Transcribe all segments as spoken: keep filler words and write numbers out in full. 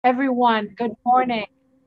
Everyone, good morning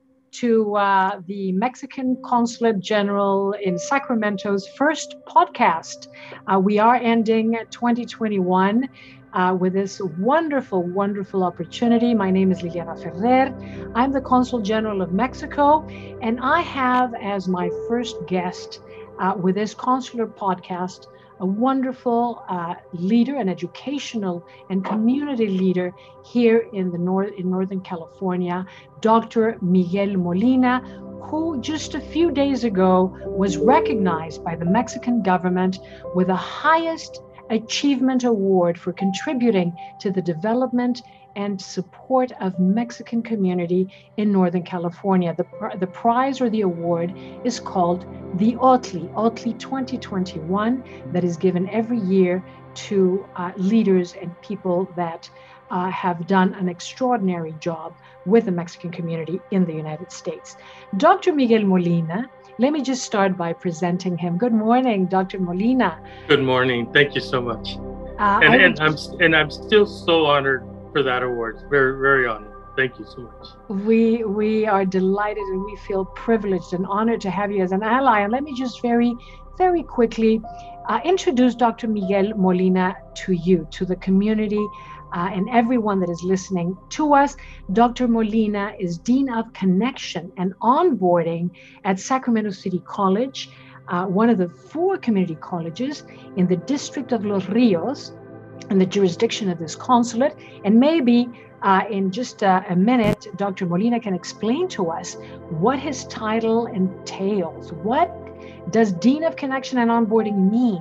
to uh, the Mexican Consulate General in Sacramento's first podcast. Uh, we are ending twenty twenty-one uh, with this wonderful, wonderful opportunity. My name is Liliana Ferrer. I'm the Consul General of Mexico, and I have as my first guest uh, with this consular podcast a wonderful uh, leader, an educational and community leader here in the north in Northern California, Doctor Miguel Molina, who just a few days ago was recognized by the Mexican government with the highest achievement award for contributing to the development and support of Mexican community in Northern California. The, the prize or the award is called the O T L I, O T L I twenty twenty-one, that is given every year to uh, leaders and people that uh, have done an extraordinary job with the Mexican community in the United States. Doctor Miguel Molina, let me just start by presenting him. Good morning, Doctor Molina. Good morning. Thank you so much. Uh, and, and I'm and I'm still so honored for that award. Very, very honored. Thank you so much. We we are delighted and we feel privileged and honored to have you as an ally. And let me just very, very quickly uh, introduce Doctor Miguel Molina to you, to the community, uh, and everyone that is listening to us. Doctor Molina is Dean of Connection and Onboarding at Sacramento City College, uh, one of the four community colleges in the District of Los Rios, in the jurisdiction of this consulate. And maybe uh, in just uh, a minute, Doctor Molina can explain to us what his title entails. What does Dean of Connection and Onboarding mean?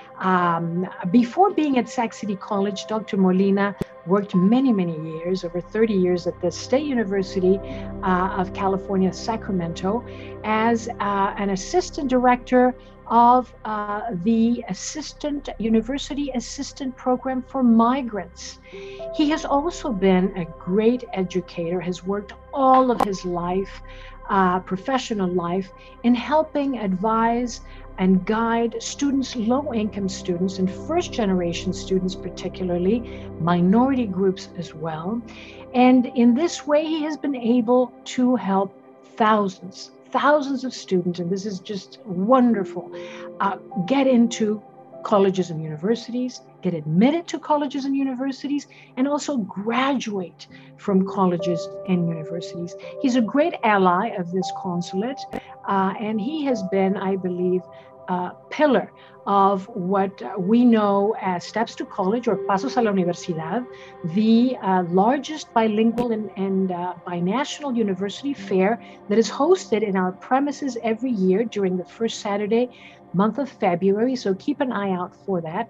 Um, before being at Sac City College, Doctor Molina worked many, many years, over thirty years at the State University uh, of California, Sacramento, as uh, an assistant director of uh, the assistant university assistant program for migrants. He has also been a great educator, has worked all of his life, uh, professional life, in helping advise and guide students, low-income students, and first-generation students particularly, minority groups as well. And in this way, he has been able to help thousands, thousands of students, and this is just wonderful, uh, get into colleges and universities, get admitted to colleges and universities, and also graduate from colleges and universities. He's a great ally of this consulate, uh, and he has been, I believe, a pillar of what we know as Steps to College, or Pasos a la Universidad, the uh, largest bilingual and, and uh, binational university fair that is hosted in our premises every year during the first Saturday month of February. So keep an eye out for that.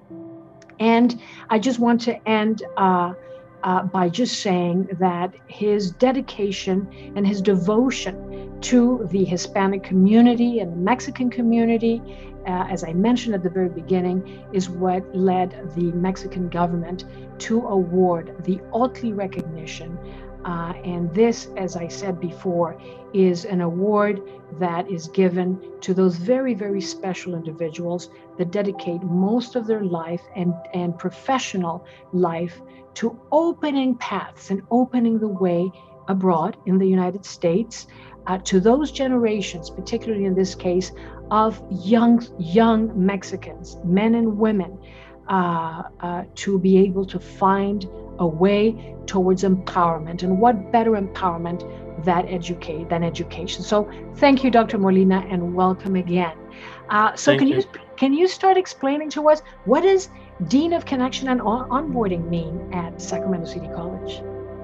And I just want to end uh, uh, by just saying that his dedication and his devotion to the Hispanic community and the Mexican community, uh, as I mentioned at the very beginning, is what led the Mexican government to award the O T L I recognition. Uh, and this, as I said before, is an award that is given to those very, very special individuals that dedicate most of their life and, and professional life to opening paths and opening the way abroad in the United States uh, to those generations, particularly in this case, of young, young Mexicans, men and women, uh, uh, to be able to find a way towards empowerment. And what better empowerment that educate than education? So thank you, Doctor Molina, and welcome again. Uh, so Thank can you. you can you start explaining to us, what does Dean of Connection and on- Onboarding mean at Sacramento City College?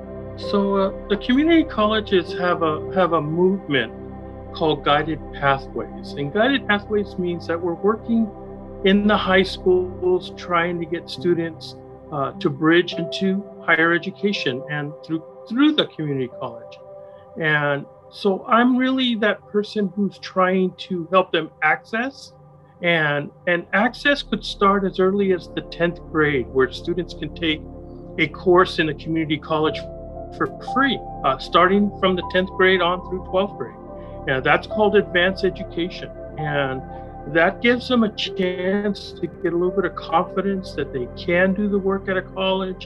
So uh, the community colleges have a have a movement called Guided Pathways, and Guided Pathways means that we're working in the high schools trying to get students uh, to bridge into higher education and through through the community college. And so I'm really that person who's trying to help them access, and and access could start as early as the tenth grade, where students can take a course in a community college for free, uh, starting from the tenth grade on through twelfth grade. And that's called advanced education. And that gives them a chance to get a little bit of confidence that they can do the work at a college,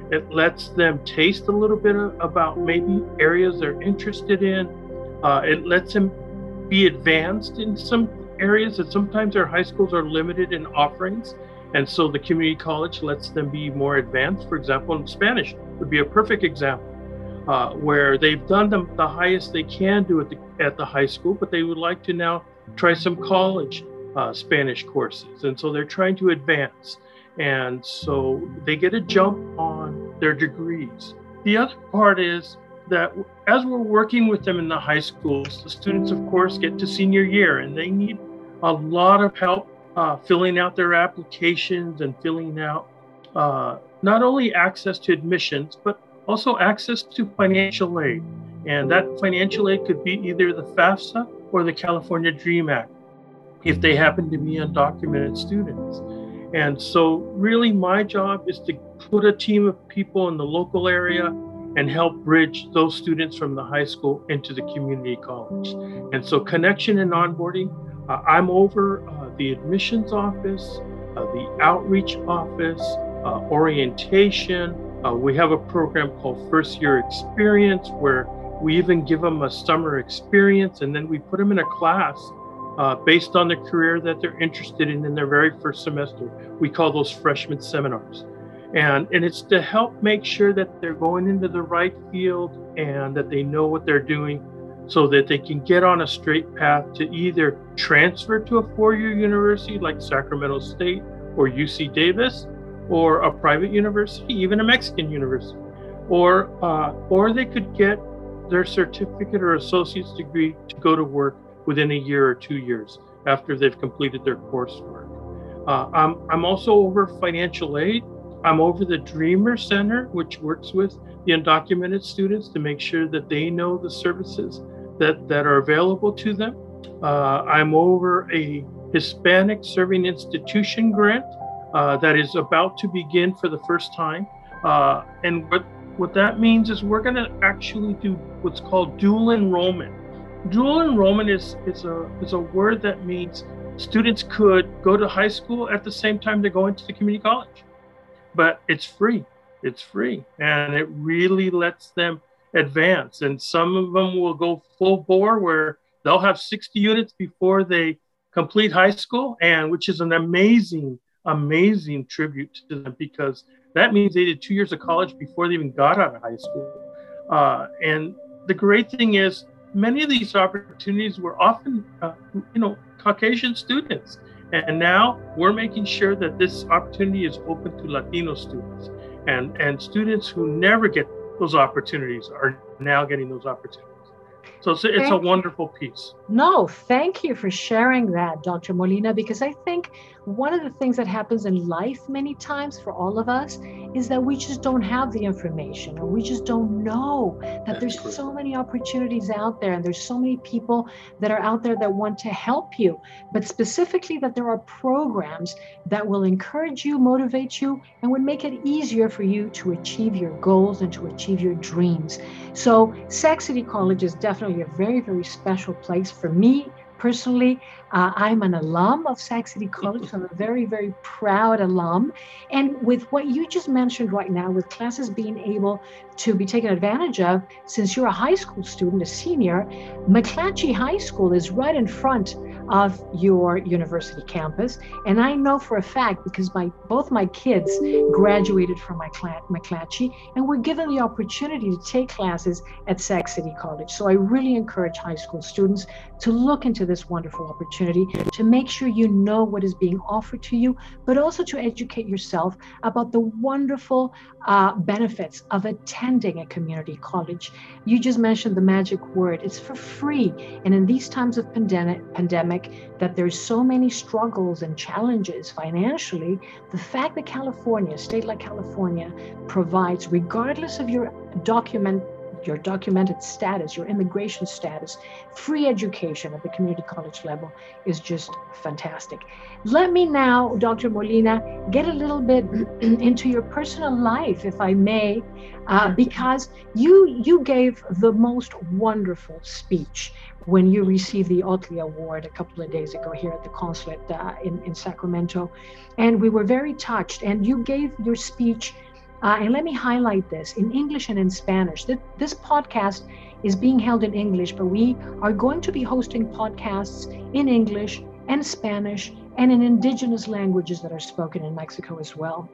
It lets them taste a little bit about maybe areas they're interested in. Uh, it lets them be advanced in some areas that sometimes our high schools are limited in offerings. And so the community college lets them be more advanced. For example, in Spanish would be a perfect example, uh, where they've done the, the highest they can do at the, at the high school, but they would like to now try some college uh, Spanish courses. And so they're trying to advance. And so they get a jump on their degrees. The other part is that as we're working with them in the high schools, the students, of course, get to senior year and they need a lot of help uh, filling out their applications and filling out uh, not only access to admissions, but also access to financial aid. And that financial aid could be either the FAFSA or the California DREAM Act, if they happen to be undocumented students. And so really my job is to put a team of people in the local area and help bridge those students from the high school into the community college. And so connection and onboarding, uh, I'm over uh, the admissions office, uh, the outreach office, uh, orientation. Uh, we have a program called First Year Experience where we even give them a summer experience and then we put them in a class Uh, based on the career that they're interested in in their very first semester. We call those freshman seminars. And, and it's to help make sure that they're going into the right field and that they know what they're doing so that they can get on a straight path to either transfer to a four-year university like Sacramento State or U C Davis, or a private university, even a Mexican university, or, uh, or they could get their certificate or associate's degree to go to work within a year or two years after they've completed their coursework. Uh, I'm, I'm also over financial aid. I'm over the Dreamer Center, which works with the undocumented students to make sure that they know the services that, that are available to them. Uh, I'm over a Hispanic Serving Institution grant uh, that is about to begin for the first time. Uh, and what, what that means is we're gonna actually do what's called dual enrollment. Dual enrollment is, is, a, is a word that means students could go to high school at the same time they're going to the community college. But it's free, it's free. And it really lets them advance. And some of them will go full bore where they'll have sixty units before they complete high school, and which is an amazing, amazing tribute to them because that means they did two years of college before they even got out of high school. Uh, and the great thing is, many of these opportunities were often, uh, you know, Caucasian students. And now we're making sure that this opportunity is open to Latino students. And, and students who never get those opportunities are now getting those opportunities. So it's, it's a wonderful piece. No, thank you for sharing that, Doctor Molina, because I think one of the things that happens in life many times for all of us is that we just don't have the information, or we just don't know that That's there's true. So many opportunities out there, and there's so many people that are out there that want to help you, but specifically that there are programs that will encourage you, motivate you, and would make it easier for you to achieve your goals and to achieve your dreams. So Sac City College is definitely a very, very special place for me. Personally, uh, I'm an alum of Sac City College, so I'm a very, very proud alum. And with what you just mentioned right now, with classes being able to be taken advantage of, since you're a high school student, a senior, McClatchy High School is right in front of your university campus. And I know for a fact, because my both my kids graduated from my McClatchy and were given the opportunity to take classes at Sac City College. So I really encourage high school students to look into this wonderful opportunity, to make sure you know what is being offered to you, but also to educate yourself about the wonderful uh, benefits of attending a community college. You just mentioned the magic word, it's for free. And in these times of pandemic, pandemic that there's so many struggles and challenges financially, the fact that California, a state like California, provides, regardless of your document, your documented status, your immigration status, free education at the community college level is just fantastic. Let me now, Doctor Molina, get a little bit into your personal life, if I may, uh, because you you gave the most wonderful speech when you received the Otley Award a couple of days ago here at the consulate uh, in, in Sacramento. And we were very touched. And you gave your speech Uh, and let me highlight this in English and in Spanish. This podcast is being held in English, but we are going to be hosting podcasts in English and Spanish and in indigenous languages that are spoken in Mexico as well.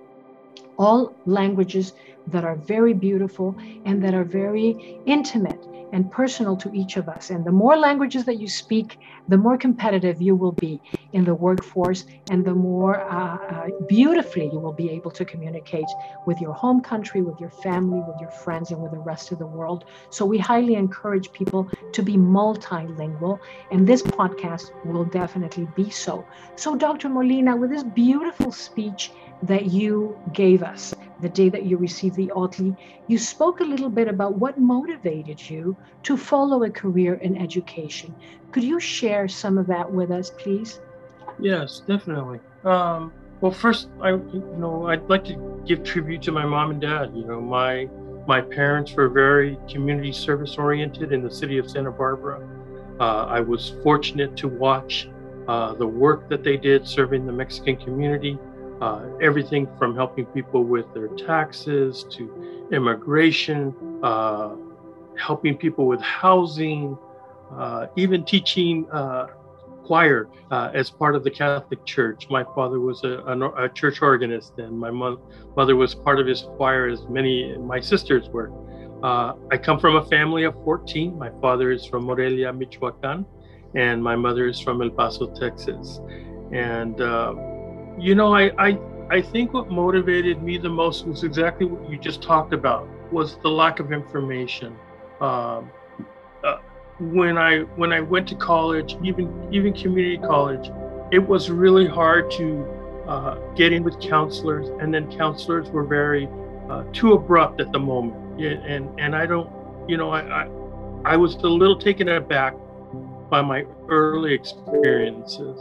All languages that are very beautiful and that are very intimate and personal to each of us. And the more languages that you speak, the more competitive you will be in the workforce, and the more uh, uh, beautifully you will be able to communicate with your home country, with your family, with your friends, and with the rest of the world. So we highly encourage people to be multilingual, and this podcast will definitely be so. So Doctor Molina, with this beautiful speech that you gave us the day that you received the O T L I, you spoke a little bit about what motivated you to follow a career in education. Could you share some of that with us, please? Yes, definitely. Um, well, first, I you know I'd like to give tribute to my mom and dad. You know, my my parents were very community service oriented in the city of Santa Barbara. Uh, I was fortunate to watch uh, the work that they did serving the Mexican community. Uh, everything from helping people with their taxes to immigration, uh, helping people with housing, uh, even teaching uh, choir uh, as part of the Catholic Church. My father was a, a, a church organist, and my mo- mother was part of his choir, as many my sisters were. Uh, I come from a family of fourteen. My father is from Morelia, Michoacan, and my mother is from El Paso, Texas. And uh, You know, I, I I think what motivated me the most was exactly what you just talked about, was the lack of information. Um, uh, when I when I went to college, even even community college, it was really hard to uh, get in with counselors, and then counselors were very uh, too abrupt at the moment. Yeah, and and I don't, you know, I, I I was a little taken aback by my early experiences.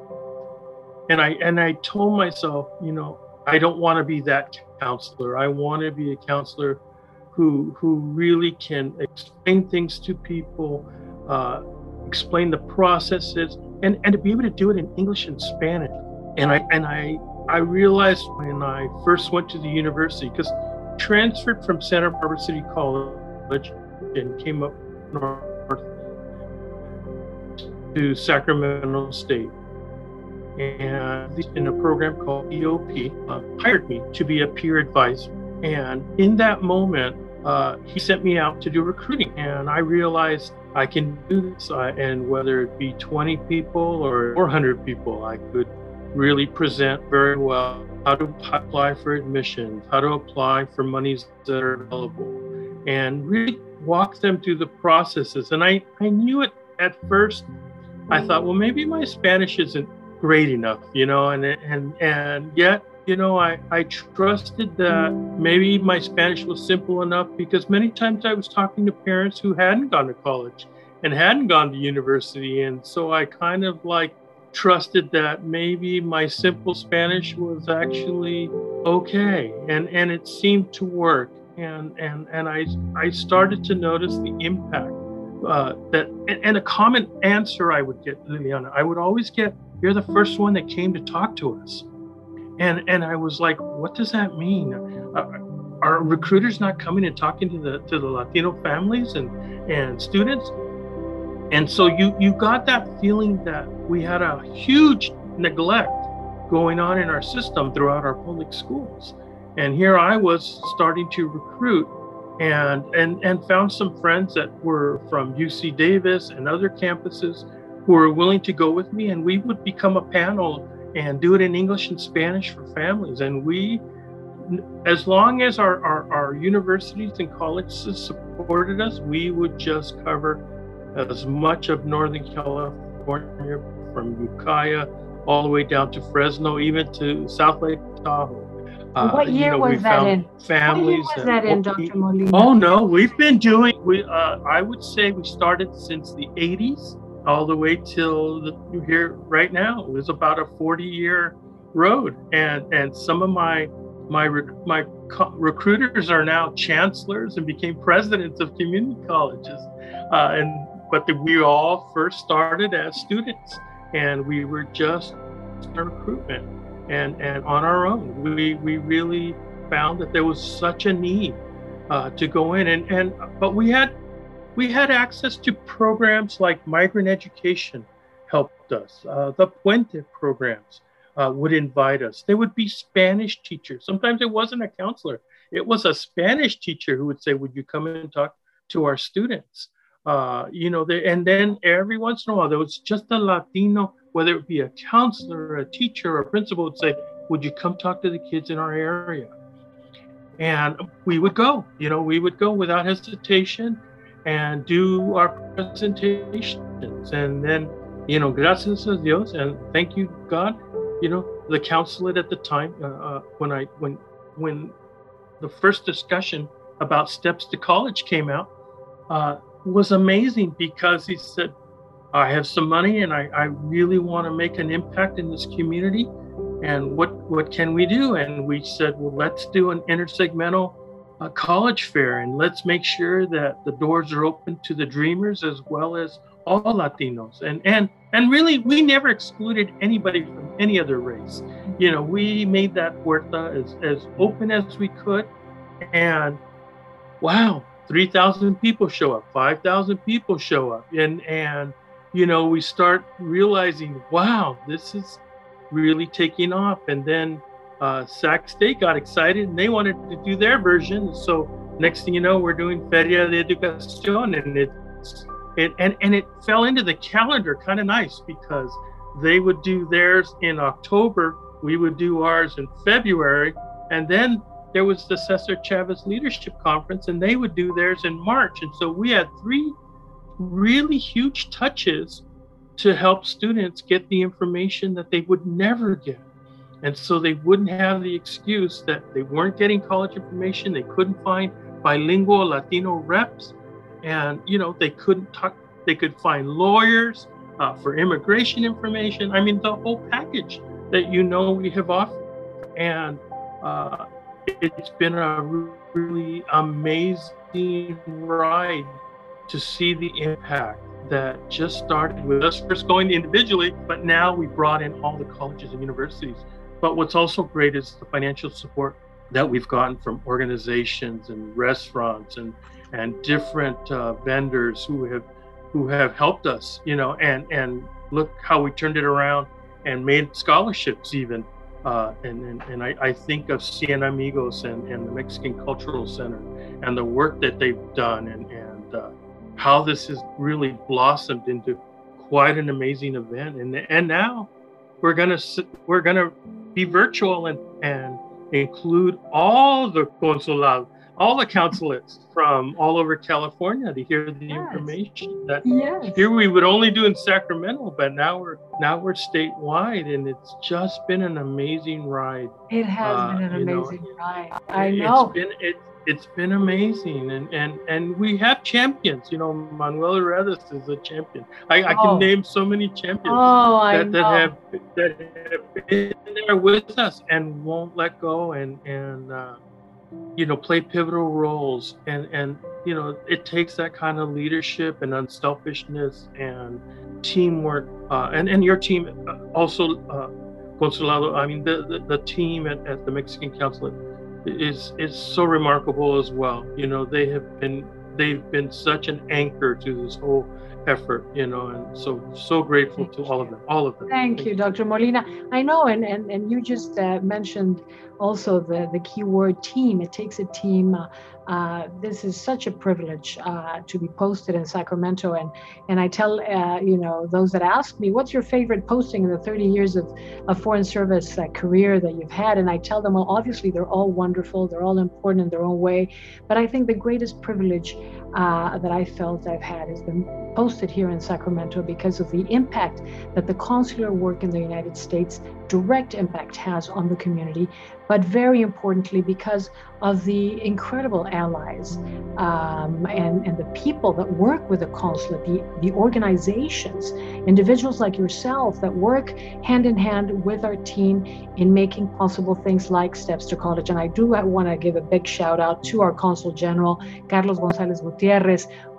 And I and I told myself, you know, I don't want to be that counselor. I want to be a counselor who who really can explain things to people, uh, explain the processes, and, and to be able to do it in English and Spanish. And I and I I realized when I first went to the university, because transferred from Santa Barbara City College and came up north to Sacramento State. And in a program called E O P, uh, hired me to be a peer advisor. And in that moment, uh, he sent me out to do recruiting. And I realized I can do this. Uh, and whether it be twenty people or four hundred people, I could really present very well how to apply for admissions, how to apply for monies that are available, and really walk them through the processes. And I, I knew it at first. I thought, well, maybe my Spanish isn't great enough, you know, and and and yet, you know, I, I trusted that maybe my Spanish was simple enough, because many times I was talking to parents who hadn't gone to college and hadn't gone to university. And so I kind of like trusted that maybe my simple Spanish was actually okay. And, and it seemed to work. And, and, and I, I started to notice the impact uh, that, and, and a common answer I would get, Liliana, I would always get, "You're the first one that came to talk to us." And and I was like, what does that mean? Uh, are recruiters not coming and talking to the to the Latino families and, and students? And so you, you got that feeling that we had a huge neglect going on in our system throughout our public schools. And here I was starting to recruit, and and and found some friends that were from U C Davis and other campuses who were willing to go with me, and we would become a panel and do it in English and Spanish for families. And we, as long as our, our, our universities and colleges supported us, we would just cover as much of Northern California, from Ukiah all the way down to Fresno, even to South Lake Tahoe. Uh, what year you know, was that in? Families what year was that, that in, Doctor Molina? Oh no, we've been doing. We uh, I would say we started since the eighties. All the way till the, here right now. It was about a forty-year road, and and some of my my my co- recruiters are now chancellors and became presidents of community colleges, uh, and but the, we all first started as students, and we were just in recruitment and and on our own. We we really found that there was such a need uh, to go in, and and but we had we had access to programs like migrant education helped us. Uh, the Puente programs uh, would invite us. There would be Spanish teachers. Sometimes it wasn't a counselor. It was a Spanish teacher who would say, would you come in and talk to our students? Uh, you know, they, and then every once in a while, there was just a Latino, whether it be a counselor, a teacher, or a principal would say, would you come talk to the kids in our area? And we would go, you know, we would go without hesitation and do our presentations. And then, you know, gracias a Dios, and thank you, God, you know, the consulate at the time, uh, uh, when I, when, when the first discussion about steps to college came out, uh, was amazing, because he said, I have some money and I, I really want to make an impact in this community. And what, what can we do? And we said, well, let's do an intersegmental uh, college fair, and let's make sure that the doors are open to the dreamers as well as all Latinos. And, and, and really, we never excluded anybody from any other race. You know, we made that puerta as, as open as we could. And wow, three thousand people show up, five thousand people show up. And, and, you know, we start realizing, wow, this is really taking off. And then uh, Sac State got excited and they wanted to do their version. So next thing you know, we're doing Feria de Educación, and it's, it, and, and it fell into the calendar kind of nice, because they would do theirs in October, we would do ours in February, and then there was the Cesar Chavez Leadership Conference, and they would do theirs in March. And so we had three really huge touches to help students get the information that they would never get. And so they wouldn't have the excuse that they weren't getting college information, they couldn't find bilingual Latino reps, and you know, they couldn't talk, they could find lawyers uh, for immigration information. I mean, the whole package that you know we have offered. And uh, it's been a really amazing ride to see the impact that just started with us first going individually, but now we brought in all the colleges and universities. But what's also great is the financial support that we've gotten from organizations and restaurants and and different uh, vendors who have who have helped us, you know, and and look how we turned it around and made scholarships even. Uh, and, and and I, I think of Cien Amigos and, and the Mexican Cultural Center and the work that they've done, and, and uh, how this has really blossomed into quite an amazing event. And and now we're gonna we're gonna be virtual and, and include all the consulado, all the consulates from all over California to hear the yes. information that yes. here we would only do in Sacramento, but now we're now we're statewide, and it's just been an amazing ride. It has uh, been an amazing know, ride. I it, know. It's been it, it's been amazing, and and and we have champions. You know, Manuel Redes is a champion. I, oh. I can name so many champions oh, that, that have that have been there with us and won't let go, and and. Uh, you know, play pivotal roles. And, and, you know, it takes that kind of leadership and unselfishness and teamwork. Uh, and, and your team also, uh, Consulado, I mean, the, the, the team at, at the Mexican Consulate is, is so remarkable as well. You know, they have been, they've been such an anchor to this whole effort, you know, and so, so grateful to all of them, all of them. Thank, Thank you, Doctor Molina. I know, and, and, and you just uh, mentioned also the, the key word team. It takes a team. Uh, uh, this is such a privilege uh, to be posted in Sacramento. And, and I tell, uh, you know, those that ask me, what's your favorite posting in the thirty years of, of foreign service uh, career that you've had? And I tell them, well, obviously they're all wonderful. They're all important in their own way. But I think the greatest privilege uh, that I felt I've had has been posted here in Sacramento because of the impact that the consular work in the United States, direct impact has on the community, but very importantly because of the incredible allies um, and, and the people that work with the consulate, the, the organizations, individuals like yourself that work hand in hand with our team in making possible things like Steps to College. And I do want to give a big shout out to our Consul General, Carlos Gonzalez Gutierrez,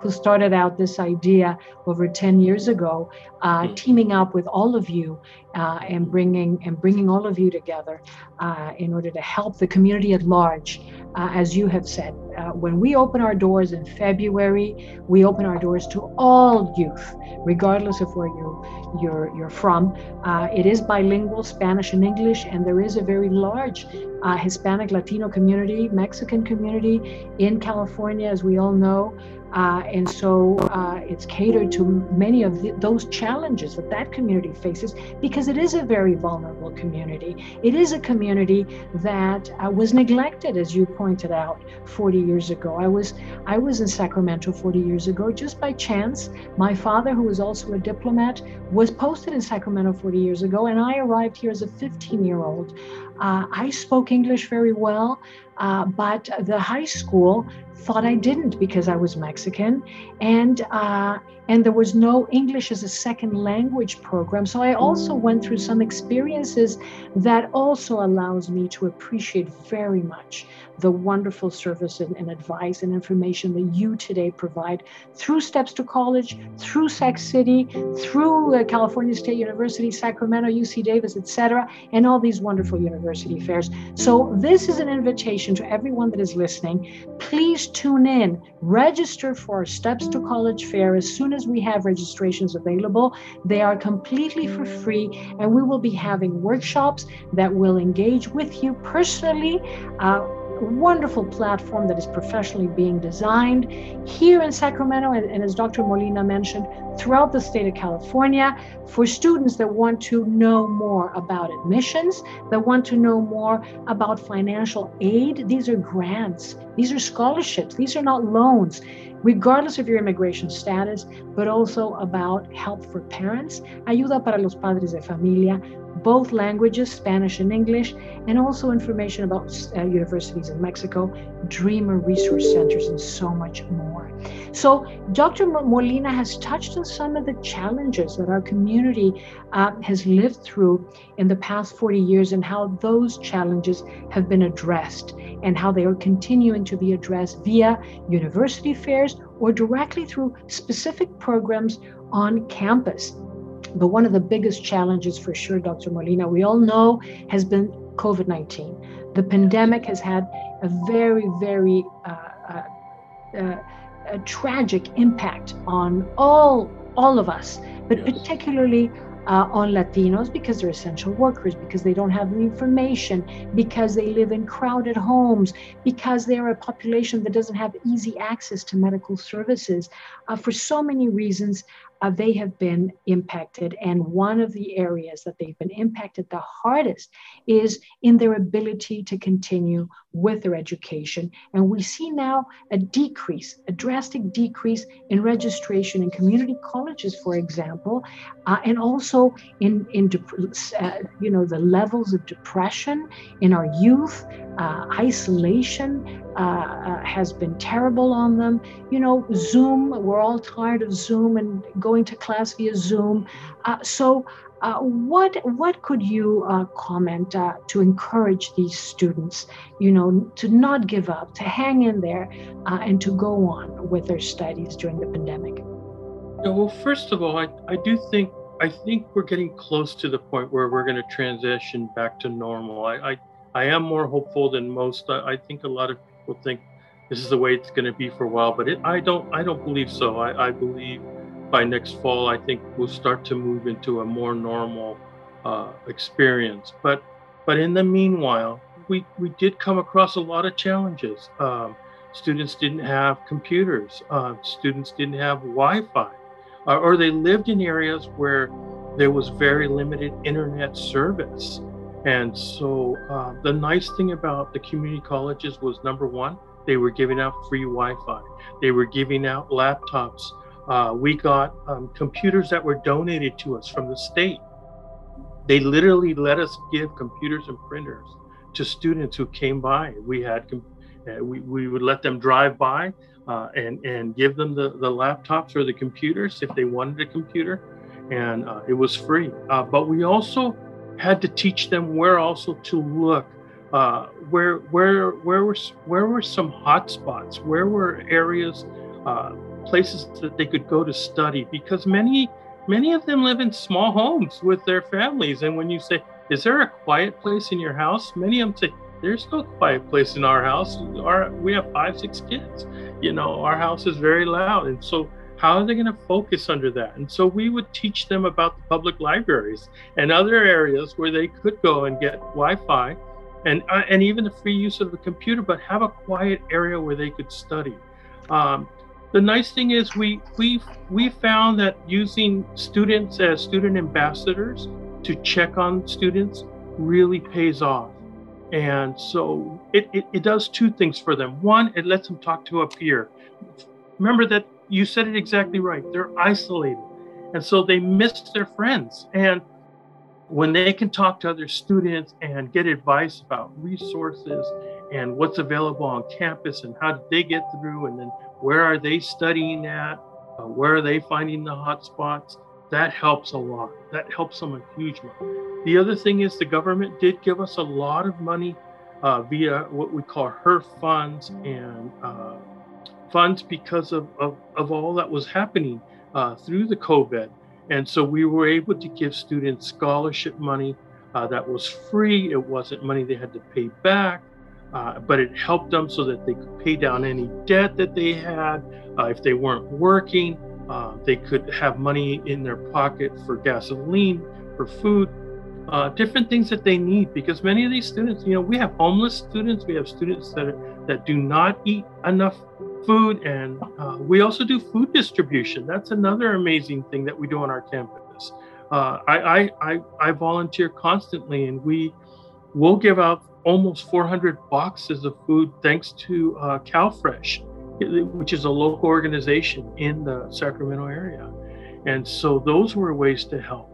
who started out this idea over ten years ago, uh, teaming up with all of you uh, and bringing and bringing all of you together uh, in order to help the community at large. Uh, as you have said, uh, when we open our doors in February, we open our doors to all youth, regardless of where you, you're, you're from. Uh, it is bilingual, Spanish and English, and there is a very large uh, Hispanic Latino community, Mexican community in California, as we all know. Uh, and so uh, it's catered to many of the, those challenges that that community faces, because it is a very vulnerable community. It is a community that uh, was neglected, as you pointed out, forty years ago. I was I was in Sacramento forty years ago just by chance. My father, who was also a diplomat, was posted in Sacramento forty years ago, and I arrived here as a fifteen-year-old. Uh, I spoke English very well, uh, but the high school thought I didn't because I was Mexican, and uh, and there was no English as a second language program. So I also went through some experiences that also allows me to appreciate very much the wonderful service and, and advice and information that you today provide through Steps to College, through Sac City, through uh, California State University, Sacramento, U C Davis, et cetera, and all these wonderful university fairs. So this is an invitation to everyone that is listening. Please tune in, register for our Steps to College fair as soon as we have registrations available. They are completely for free, and we will be having workshops that will engage with you personally. Uh, A wonderful platform that is professionally being designed here in Sacramento, and, and as Doctor Molina mentioned, throughout the state of California, for students that want to know more about admissions, that want to know more about financial aid. These are grants, these are scholarships, these are not loans, regardless of your immigration status, but also about help for parents, ayuda para los padres de familia, both languages, Spanish and English, and also information about uh, universities in Mexico, Dreamer resource centers, and so much more. So Doctor Molina has touched on some of the challenges that our community uh, has lived through in the past forty years, and how those challenges have been addressed, and how they are continuing to be addressed via university fairs or directly through specific programs on campus. But one of the biggest challenges, for sure, Doctor Molina, we all know, has been COVID nineteen. The pandemic has had a very, very uh, uh, uh, a tragic impact on all, all of us, but particularly uh, on Latinos, because they're essential workers, because they don't have the information, because they live in crowded homes, because they're a population that doesn't have easy access to medical services. Uh, for so many reasons, Uh, they have been impacted. And one of the areas that they've been impacted the hardest is in their ability to continue with their education. And we see now a decrease, a drastic decrease in registration in community colleges, for example, uh, and also in, in uh, you know, the levels of depression in our youth. Uh, isolation uh, uh, has been terrible on them. You know, Zoom, we're all tired of Zoom and going to class via Zoom. Uh, so uh, what what could you uh, comment uh, to encourage these students, you know, to not give up, to hang in there, uh, and to go on with their studies during the pandemic? Yeah, well, first of all, I, I do think, I think we're getting close to the point where we're going to transition back to normal. I, I I am more hopeful than most. I, I think a lot of people think this is the way it's going to be for a while, but it, I don't. I don't believe so. I, I believe by next fall, I think we'll start to move into a more normal uh, experience. But but in the meanwhile, we we did come across a lot of challenges. Um, students didn't have computers. Uh, students didn't have Wi-Fi, uh, or they lived in areas where there was very limited internet service. And so uh, the nice thing about the community colleges was, number one, they were giving out free Wi-Fi. They were giving out laptops. Uh, we got um, computers that were donated to us from the state. They literally let us give computers and printers to students who came by. We had, uh, we, we would let them drive by uh, and, and give them the, the laptops or the computers if they wanted a computer, and uh, it was free. Uh, but we also had to teach them where also to look, uh, where where where were where were some hot spots, where were areas uh, places that they could go to study, because many many of them live in small homes with their families. And when you say, is there a quiet place in your house? Many of them say, there's no quiet place in our house. Our, we have five, six kids. You know, our house is very loud. And so how are they going to focus under that? And so we would teach them about the public libraries and other areas where they could go and get Wi-Fi and, uh, and even the free use of the computer, but have a quiet area where they could study. Um, the nice thing is we, we, we found that using students as student ambassadors to check on students really pays off. And so it, it, it does two things for them. One, it lets them talk to a peer. Remember that you said it exactly right. They're isolated. And so they miss their friends. And when they can talk to other students and get advice about resources and what's available on campus and how did they get through, and then where are they studying at, uh, where are they finding the hot spots, that helps a lot. That helps them a huge amount. The other thing is the government did give us a lot of money uh, via what we call H E R F funds and uh, funds because of, of, of all that was happening uh, through the COVID. And so we were able to give students scholarship money uh, that was free. It wasn't money they had to pay back, uh, but it helped them so that they could pay down any debt that they had. Uh, if they weren't working, uh, they could have money in their pocket for gasoline, for food, uh, different things that they need. Because many of these students, you know, we have homeless students, we have students that are, that do not eat enough food, and uh, we also do food distribution. That's another amazing thing that we do on our campus. Uh, I, I, I, I volunteer constantly, and we will give out almost four hundred boxes of food thanks to uh, CalFresh, which is a local organization in the Sacramento area. And so those were ways to help.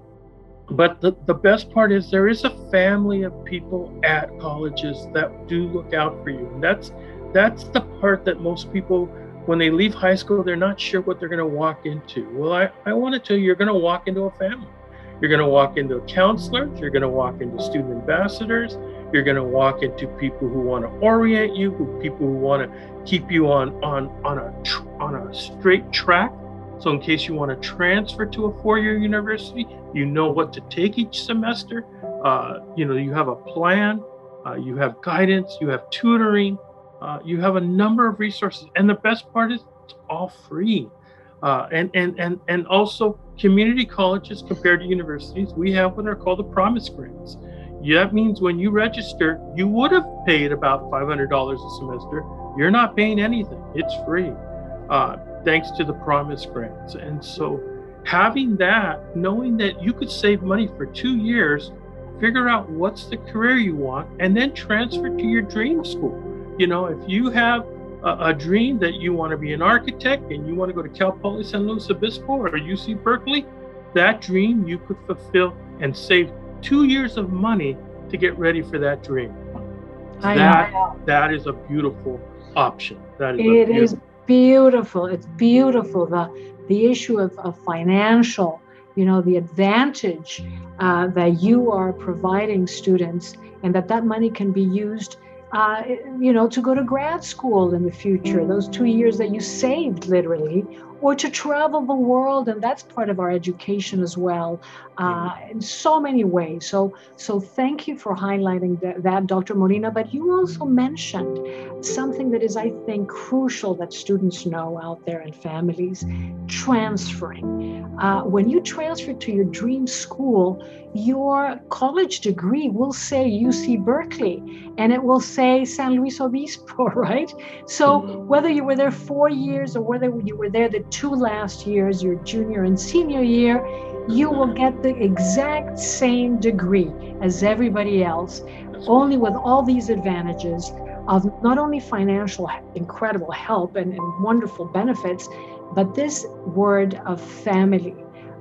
But the, the best part is there is a family of people at colleges that do look out for you. And that's That's the part that most people, when they leave high school, they're not sure what they're going to walk into. Well, I, I want to tell you, you're going to walk into a family. You're going to walk into counselors. You're going to walk into student ambassadors. You're going to walk into people who want to orient you, who, people who want to keep you on, on, on, a, on a straight track. So in case you want to transfer to a four-year university, you know what to take each semester. Uh, you know, you have a plan. Uh, you have guidance. You have tutoring. Uh, you have a number of resources, and the best part is it's all free. Uh, and, and, and, and also community colleges compared to universities, we have what are called the promise grants. Yeah, that means when you register, you would have paid about five hundred dollars a semester. You're not paying anything, it's free, uh, thanks to the promise grants. And so having that, knowing that you could save money for two years, figure out what's the career you want, and then transfer to your dream school. You know, if you have a, a dream that you want to be an architect and you want to go to Cal Poly San Luis Obispo or U C Berkeley, that dream you could fulfill and save two years of money to get ready for that dream. I that know. That is a beautiful option. That is It beautiful. is beautiful. It's beautiful. The the issue of, of financial, you know, the advantage uh, that you are providing students, and that that money can be used Uh, you know, to go to grad school in the future, those two years that you saved literally, or to travel the world. And that's part of our education as well, uh, in so many ways. So, so thank you for highlighting that, that, Doctor Molina. But you also mentioned something that is, I think, crucial that students know out there and families: transferring. Uh, when you transfer to your dream school, your college degree will say U C Berkeley, and it will say San Luis Obispo, right? So whether you were there four years or whether you were there the two last years, your junior and senior year, you will get the exact same degree as everybody else, only with all these advantages of not only financial incredible help and, and wonderful benefits, but this word of family.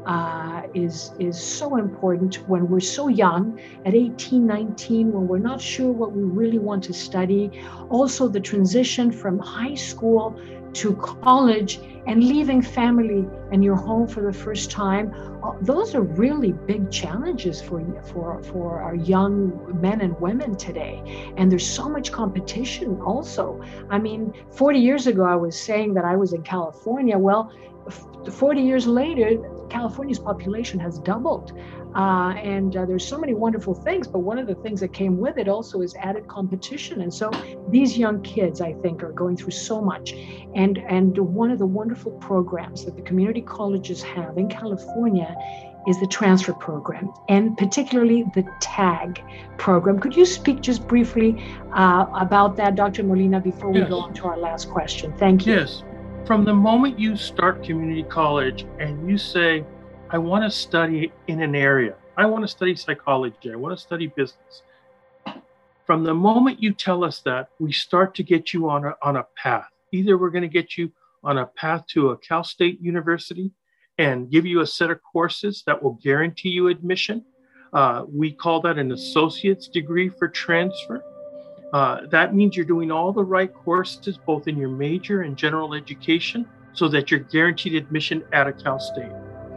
Uh, is is so important when we're so young, at eighteen, nineteen, when we're not sure what we really want to study. Also, the transition from high school to college and leaving family and your home for the first time. Those are really big challenges for for for our young men and women today. And there's so much competition also. I mean, forty years ago, I was saying that I was in California. Well, forty years later, California's population has doubled. Uh, and uh, there's so many wonderful things, but one of the things that came with it also is added competition. And so these young kids, I think, are going through so much. And, and one of the wonderful programs that the community colleges have in California is the transfer program, and particularly the TAG program. Could you speak just briefly uh, about that, Doctor Molina, before we Yes. go on to our last question? Thank you. Yes. From the moment you start community college and you say, I want to study in an area, I want to study psychology, I want to study business. From the moment you tell us that, we start to get you on a, on a path. Either we're going to get you on a path to a Cal State University and give you a set of courses that will guarantee you admission. Uh, we call that an associate's degree for transfer. Uh, that means you're doing all the right courses, both in your major and general education, so that you're guaranteed admission at a Cal State.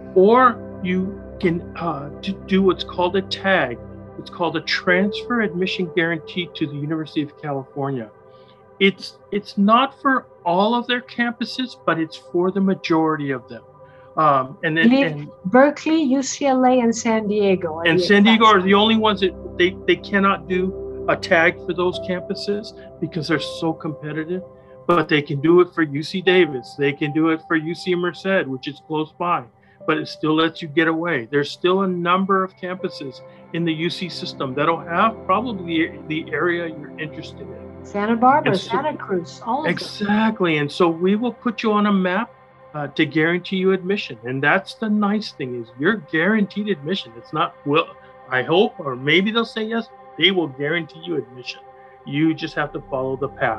Or you can uh, do what's called a TAG. It's called a Transfer Admission Guarantee to the University of California. It's, it's not for all of their campuses, but it's for the majority of them. Um, and then and, Berkeley, U C L A, and San Diego. And San Diego are the only ones that they, they cannot do a tag for those campuses because they're so competitive, but they can do it for U C Davis. They can do it for U C Merced, which is close by, but it still lets you get away. There's still a number of campuses in the U C system that'll have probably the area you're interested in. Santa Barbara, so, Santa Cruz, all of Exactly. them. And so we will put you on a map uh, to guarantee you admission. And that's the nice thing is you're guaranteed admission. It's not, well, I hope, or maybe they'll say yes, they will guarantee you admission. You just have to follow the path.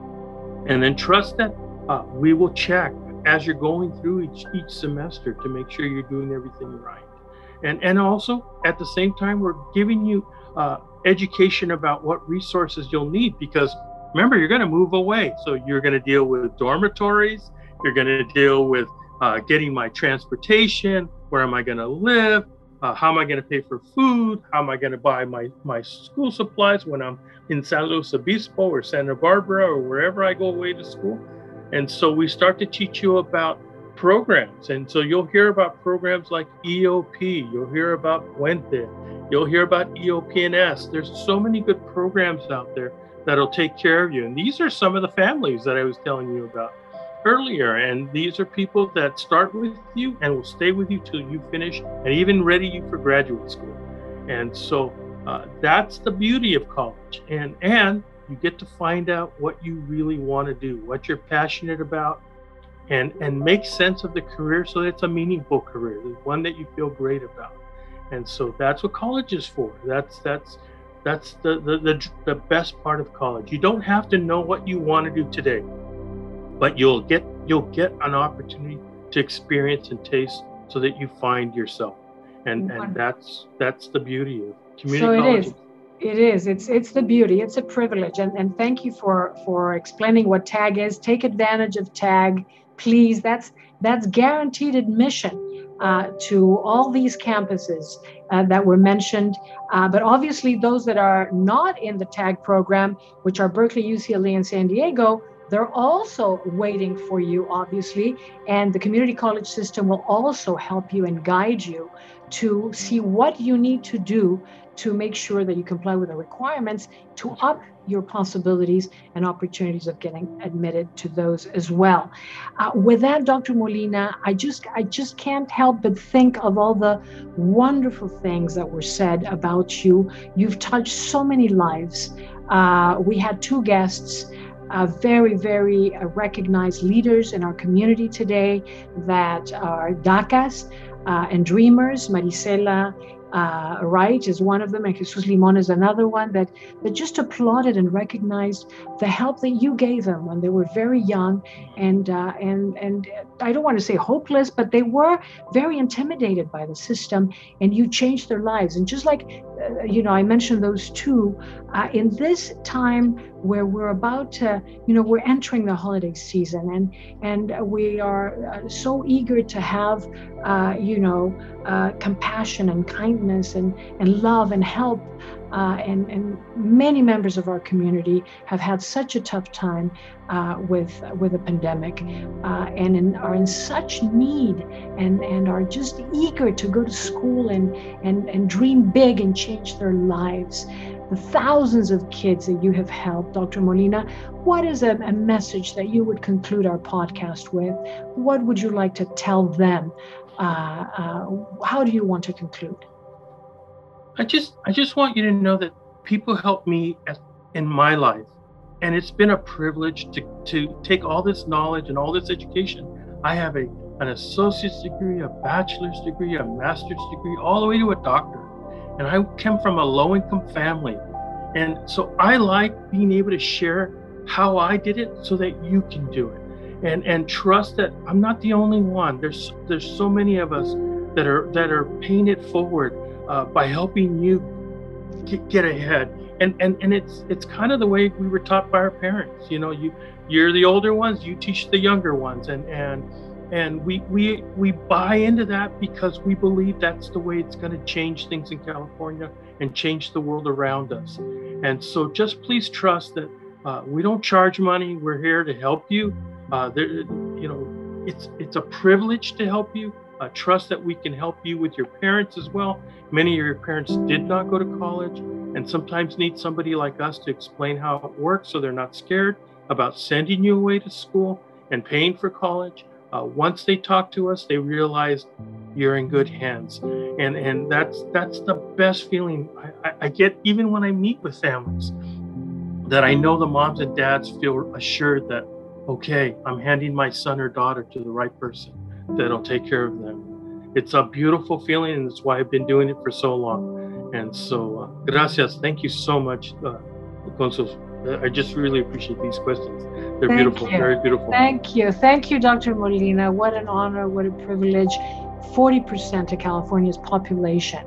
And then trust that uh, we will check as you're going through each, each semester to make sure you're doing everything right. And, and also, at the same time, we're giving you uh, education about what resources you'll need, because remember, you're going to move away. So you're going to deal with dormitories, you're going to deal with uh, getting my transportation, where am I going to live, uh, how am I going to pay for food, how am I going to buy my, my school supplies when I'm in San Luis Obispo or Santa Barbara or wherever I go away to school. And so we start to teach you about programs. And so you'll hear about programs like E O P, you'll hear about Puente, you'll hear about E O P N S. There's so many good programs out there that'll take care of you. And these are some of the families that I was telling you about earlier. And these are people that start with you and will stay with you till you finish and even ready you for graduate school. And so uh, that's the beauty of college. And, and you get to find out what you really want to do, what you're passionate about, and, and make sense of the career so that it's a meaningful career, one that you feel great about. And so that's what college is for. That's that's that's the, the, the, the best part of college. You don't have to know what you want to do today, but you'll get you'll get an opportunity to experience and taste so that you find yourself. And and that's that's the beauty of community so it college. Is. It is. It's it's the beauty. It's a privilege. And and thank you for for explaining what TAG is. Take advantage of TAG, please. That's that's guaranteed admission uh, to all these campuses uh, that were mentioned. Uh, but obviously, those that are not in the TAG program, which are Berkeley, U C L A, and San Diego, they're also waiting for you, obviously. And the community college system will also help you and guide you to see what you need to do to make sure that you comply with the requirements to up your possibilities and opportunities of getting admitted to those as well. Uh, with that, Doctor Molina, I just I just can't help but think of all the wonderful things that were said about you. You've touched so many lives. Uh, we had two guests, uh, very, very uh, recognized leaders in our community today that are D A C As uh, and dreamers, Marisela uh, right, is one of them, and Jesus Limon is another one that, that just applauded and recognized the help that you gave them when they were very young, and uh, and and I don't want to say hopeless, but they were very intimidated by the system, and you changed their lives. And just like, uh, you know, I mentioned those two, uh, in this time where we're about to, you know, we're entering the holiday season, and and we are uh, so eager to have, uh, you know, uh, compassion and kindness and, and love and help. Uh, and, and many members of our community have had such a tough time uh, with with a pandemic, uh, and in, are in such need, and, and are just eager to go to school and, and, and dream big and change their lives. The thousands of kids that you have helped, Doctor Molina, what is a, a message that you would conclude our podcast with? What would you like to tell them? Uh, uh, how do you want to conclude? I just I just want you to know that people help me as, in my life. And it's been a privilege to, to take all this knowledge and all this education. I have a an associate's degree, a bachelor's degree, a master's degree, all the way to a doctorate. And I came from a low-income family. And so I like being able to share how I did it so that you can do it. And and trust that I'm not the only one. There's there's so many of us that are that are paying it forward uh, by helping you get, get ahead. And and and it's it's kind of the way we were taught by our parents. You know, you you're the older ones, you teach the younger ones, and and and we we we buy into that because we believe that's the way it's going to change things in California and change the world around us. And so just please trust that uh, we don't charge money. We're here to help you. Uh, there, you know, it's it's a privilege to help you. Uh, trust that we can help you with your parents as well. Many of your parents did not go to college, and sometimes need somebody like us to explain how it works so they're not scared about sending you away to school and paying for college. Uh, once they talk to us, they realize you're in good hands. And and that's that's the best feeling I, I, I get even when I meet with families, that I know the moms and dads feel assured that, okay, I'm handing my son or daughter to the right person that'll take care of them. It's a beautiful feeling, and that's why I've been doing it for so long. And so, uh, gracias. Thank you so much, uh, Consul. I just really appreciate these questions. They're Thank beautiful, you. very beautiful. Thank you. Thank you, Doctor Molina. What an honor, what a privilege. forty percent of California's population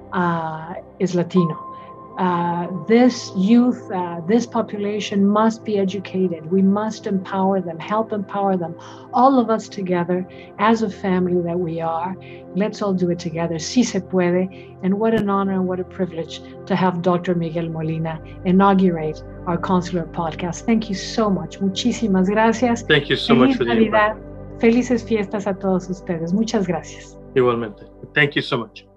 uh, is Latino. Uh, this youth, uh, this population must be educated. We must empower them, help empower them. All of us together as a family that we are. Let's all do it together. Sí se puede. And what an honor and what a privilege to have Doctor Miguel Molina inaugurate our Consular podcast. Thank you so much. Muchísimas gracias. Thank you so Feliz much for the Navidad. invite. Felices fiestas a todos ustedes. Muchas gracias. Igualmente. Thank you so much.